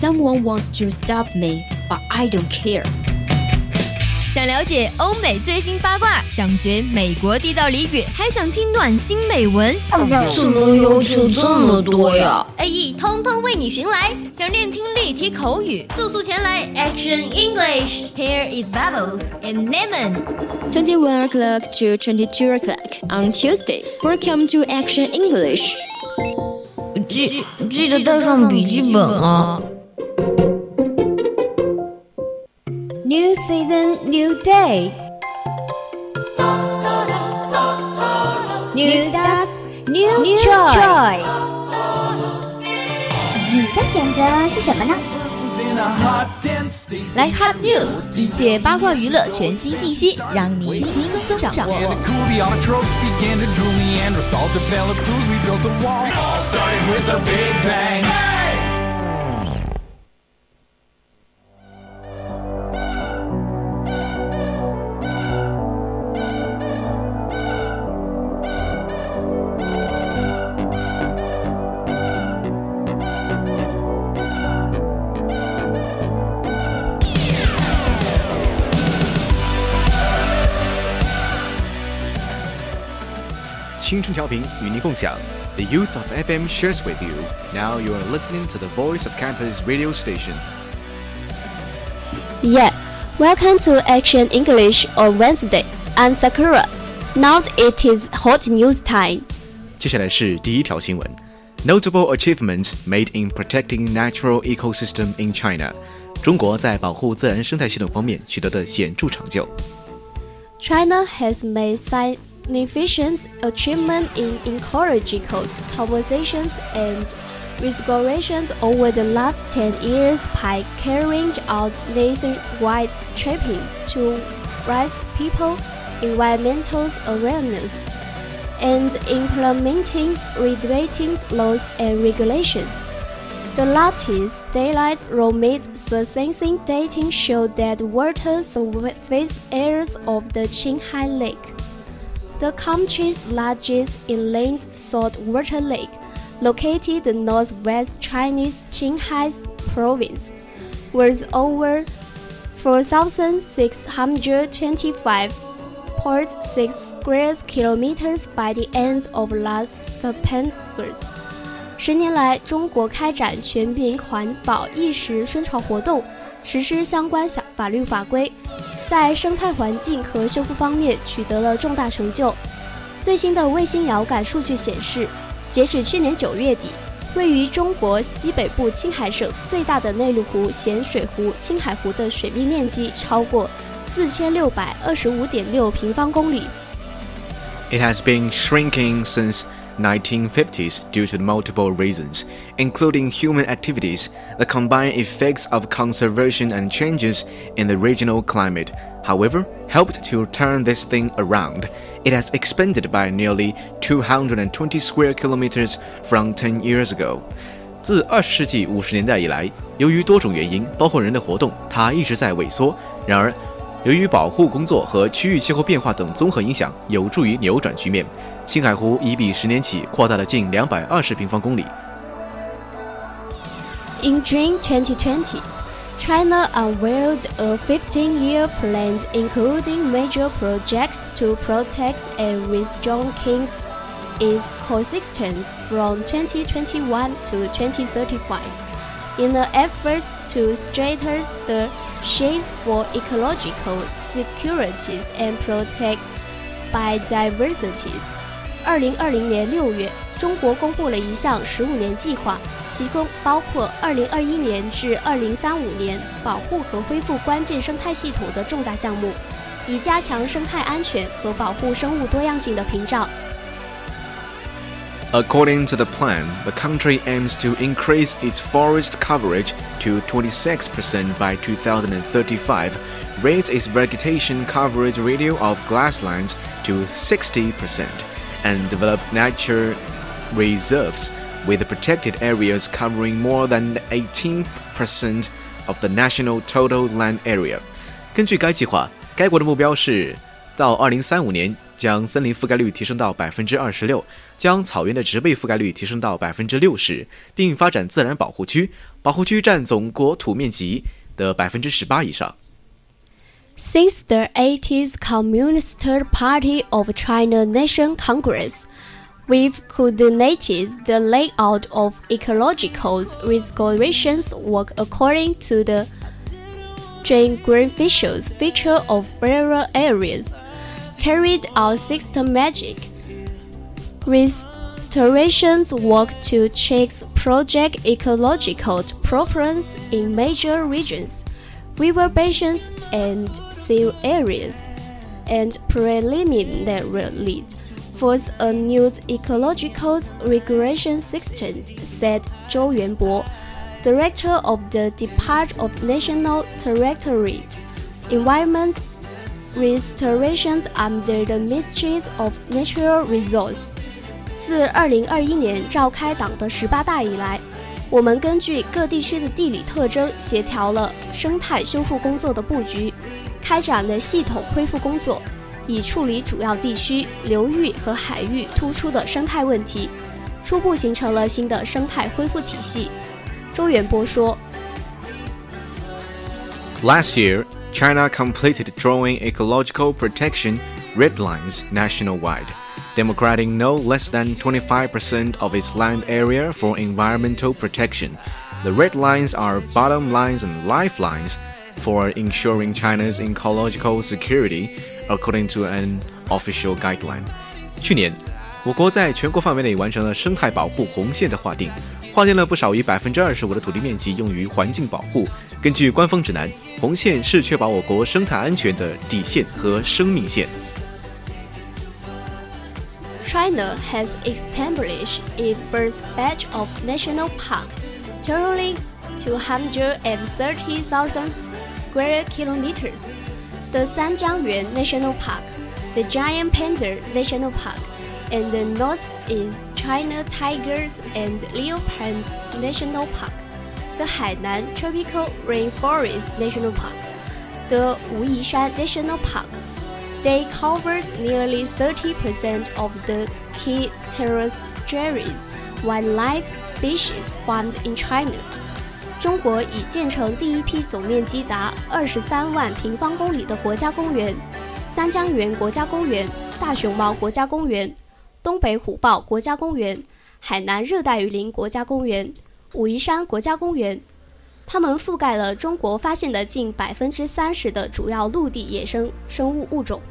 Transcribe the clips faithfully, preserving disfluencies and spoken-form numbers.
Someone wants to stop me, but I don't care. 想了解欧美最新八卦，想学美国地道俚语，还想听暖心美文， 怎么要求这么多呀 ？A E 通通为你寻来。想练听力题口语，速速前来 Action English. Here is Bubbles and Lemon. twenty-one o'clock to twenty-two o'clock on Tuesday. Welcome to Action English. 记记得带上笔记本啊。 New season, new day. New start, new, new choice. 你的选择是什么呢？ 来 Hot News， 一切八卦娱乐全新信息，让你轻松掌握。 青春调频与您共享 The youth of F M shares with you. Now you are listening to the voice of campus radio station. Yeah, welcome to Action English on Wednesday. I'm Sakura. Now it is hot news time. 接下来是第一条新闻 Notable achievements made in protecting natural ecosystem in China. 中国在保护自然生态系统方面取得的显著成就。 China has made significant achievement in ecological conservation and restoration over the last ten years by carrying out nationwide campaigns to raise people's environmental awareness and implementing regulating laws and regulations. The latest daylight roaming sensing data showed that water surface areas of the Qinghai Lake, the country's largest inland saltwater lake, located in northwest Chinese Qinghai province, was over four thousand six hundred twenty-five point six square kilometers by the end of last September. 十年来，中国开展全民环保意识宣传活动，实施相关法律法规，在生态环境和修复方面取得了重大成就。最新的卫星遥感数据显示，截止去年九月底，位于中国西北部青海省最大的内陆湖咸水湖青海湖的水面面积超过四千六百二十五点六平方公里。 It has been shrinking since nineteen fifties due to multiple reasons, including human activities, the combined effects of conservation and changes in the regional climate, however, helped to turn this thing around. It has expanded by nearly two hundred twenty square kilometers from ten years ago. 自二十世纪五十年代以来，由于多种原因，包括人的活动，它一直在萎缩。然而，由于保护工作和区域气候变化等综合影响，有助于扭转局面。青海湖已比十年起扩大了近两百二十平方公里。 In June twenty twenty, China unveiled a fifteen-year plan including major projects to protect and restore King's ecosystem from twenty twenty-one to twenty thirty-five. In an effort to strengthen the chains for ecological security and protect biodiversity. 二零二零年六月，中国公布了一项十五年计划，其中包括二零二一年至二零三五年保护和恢复关键生态系统的重大项目，以加强生态安全和保护生物多样性的屏障。 According to the plan, the country aims to increase its forest coverage to twenty-six percent by two thousand thirty-five, raise its vegetation coverage ratio of grasslands to sixty percent, and develop nature reserves with protected areas covering more than eighteen percent of the national total land area. 根据该计划，该国的目标是到二零三五年将森林覆盖率提升到百分之二十六， 将草原的植被覆盖率提升到 百分之六十， 并发展自然保护区，保护区占总国土面积的 百分之十八 以上。 Since the eighties Communist Party of China Nation Congress, we've coordinated the layout of ecological restorations work according to the geographical feature of rural areas, carried out systematic restorations work to check project ecological problems in major regions, river basins and sea areas, and preliminarily force a new ecological regulation system, said Zhou Yuanbo, Director of the Department of National Directorate, Environment Restoration under the Ministry of Natural Resources. 自二零二一年召开党的十八大以来，我们根据各地区的地理特征，协调了生态修复工作的布局，开展了系统恢复工作，以处理主要地区、流域和海域突出的生态问题，初步形成了新的生态恢复体系。周元波说 Last year, China completed drawing ecological protection red lines nationwide, democrating no less than twenty-five percent of its land area for environmental protection. The red lines are bottom lines and lifelines for ensuring China's ecological security, according to an official guideline. 去年，我国在全国范围内完成了生态保护红线的划定，划定了不少于 百分之二十五 的土地面积用于环境保护。根据官方指南，红线是确保我国生态安全的底线和生命线。 China has established its first batch of national park, totaling two hundred thirty thousand square kilometers. The Sanjiangyuan National Park, the Giant Panda National Park, and the Northeast China Tigers and Leopard National Park, the Hainan Tropical Rainforest National Park, the Wuyishan National Park. They cover nearly thirty percent of the key terrestrial wildlife species found in China. 中国已建成第一批总面积达二十三万平方公里的国家公园：三江源国家公园、大熊猫国家公园、东北虎豹国家公园、海南热带雨林国家公园、武夷山国家公园。它们覆盖了中国发现的近 百分之三十 的主要陆地野生生物物种。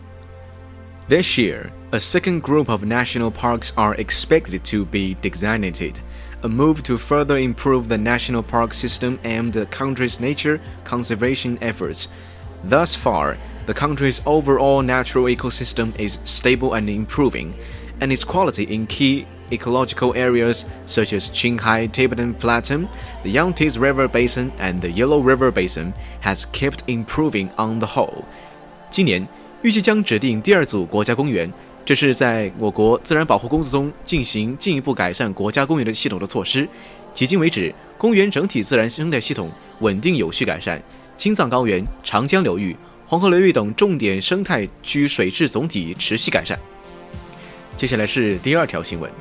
This year, a second group of national parks are expected to be designated, a move to further improve the national park system and the country's nature conservation efforts. Thus far, the country's overall natural ecosystem is stable and improving, and its quality in key ecological areas such as Qinghai Tibetan Plateau, the Yangtze River Basin, and the Yellow River Basin has kept improving on the whole. 今年预计将指定第二组国家公园，这是在我国自然保护工作中进行进一步改善国家公园的系统的措施。迄今为止，公园整体自然生态系统稳定有序改善，青藏高原、长江流域、黄河流域等重点生态区水质总体持续改善。接下来是第二条新闻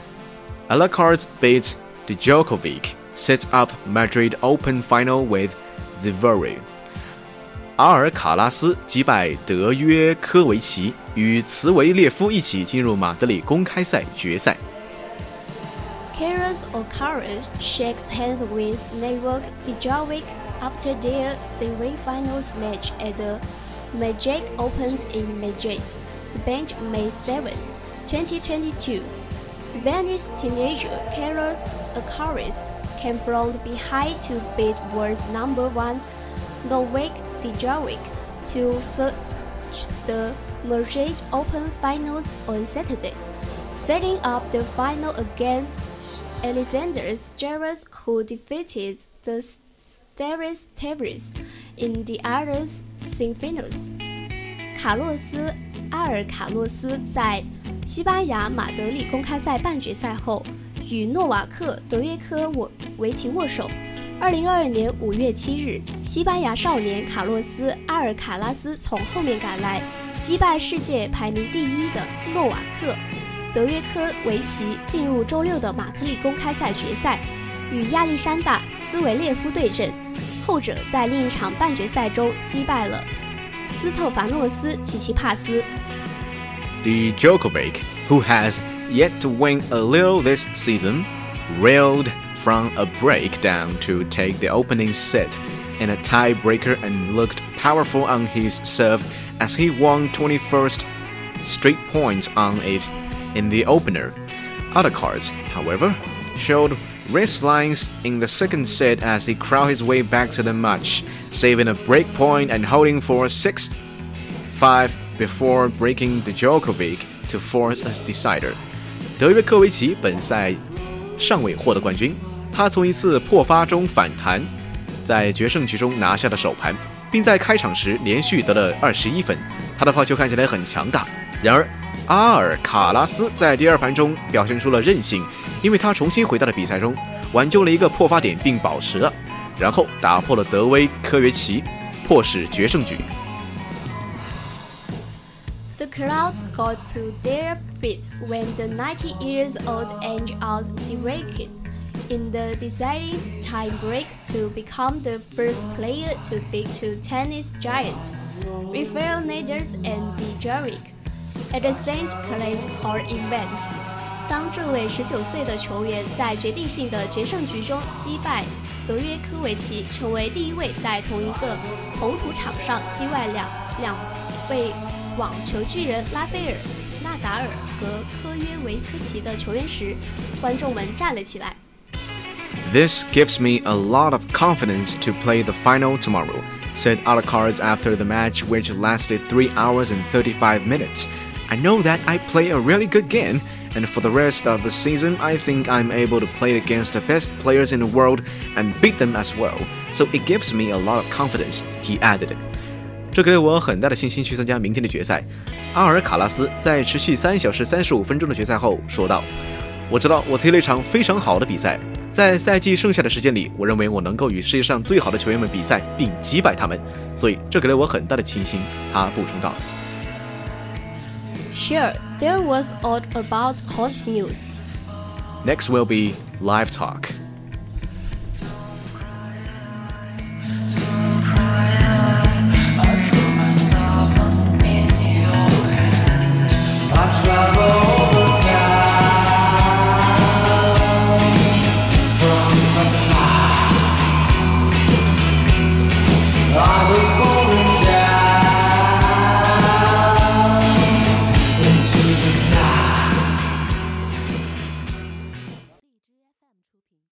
Alcaraz beats Djokovic, sets up Madrid Open final with Zverev. 阿尔卡拉斯击败德约科维奇，与茨维列夫一起进入马德里公开赛决赛。 Carlos Alcaraz shakes hands with Novak Djokovic after their semi-finals match at the Madrid Open in Madrid, Spain, May seventh, twenty twenty-two. Spanish teenager Carlos Alcaraz came from behind to beat world number one Novak Djokovic to search the Madrid Open finals on Saturday, setting up the final against Alexander Zverev, who defeated the Staris Tavares in the other semifinals. 卡洛斯阿尔卡洛斯在西班牙马德里公开赛半决赛后，与诺瓦克德约科维奇握手。二零二二年五月七日，西班牙少年卡洛斯阿尔卡拉斯从后面赶来，击败世界排名第一的诺瓦克。 德约科维奇进入周六的马克利公开赛决赛，与亚历山大·兹维列夫对阵，后者在另一场半决赛中击败了斯特凡诺斯·齐齐帕斯。 The Djokovic, who has yet to win a little this season, reeled from a breakdown to take the opening set in a tiebreaker and looked powerful on his serve as he won twenty-first straight points on it in the opener. Other cards, however, showed wrist lines in the second set as he crawled his way back to the match, saving a break point and holding for six five before breaking the Djokovic to force a decider. 德约科维奇本赛尚未获得冠军，他从一次破发中反弹，在决胜局中拿下了首盘，并在开场时连续得了二十一分。他的抛球看起来很强大，然而阿尔卡拉斯在第二盘中表现出了韧性，因为他重新回到了比赛中，挽救了一个破发点并保持了，然后打破了德威科维奇，迫使决胜局。 The crowd got to their feet when the ninety years old Angel Djuricz in the deciding tiebreak to become the first player to beat two tennis giants, Rafael Nadal and Djokovic, at the Saint Cloud Court event. 当这位十九岁的球员在决定性的决胜局中击败德约科维奇，成为第一位在同一个红土场上击败两两位网球巨人拉斐尔·纳达尔和科约维科奇的球员时，观众们站了起来。 This gives me a lot of confidence to play the final tomorrow, said Alcaraz after the match, which lasted three hours and thirty-five minutes. I know that I play a really good game, and for the rest of the season, I think I'm able to play against the best players in the world and beat them as well. So it gives me a lot of confidence, he added. 这给了我很大的信心去参加明天的决赛。阿尔卡拉斯在持续三小时三十五分钟的决赛后说道：“我知道我踢了一场非常好的比赛，在赛季剩下的时间里，我认为我能够与世界上最好的球员们比赛并击败他们，所以这给了我很大的信心。”他补充道。 Sure, there was all about court news. Next will be live talk.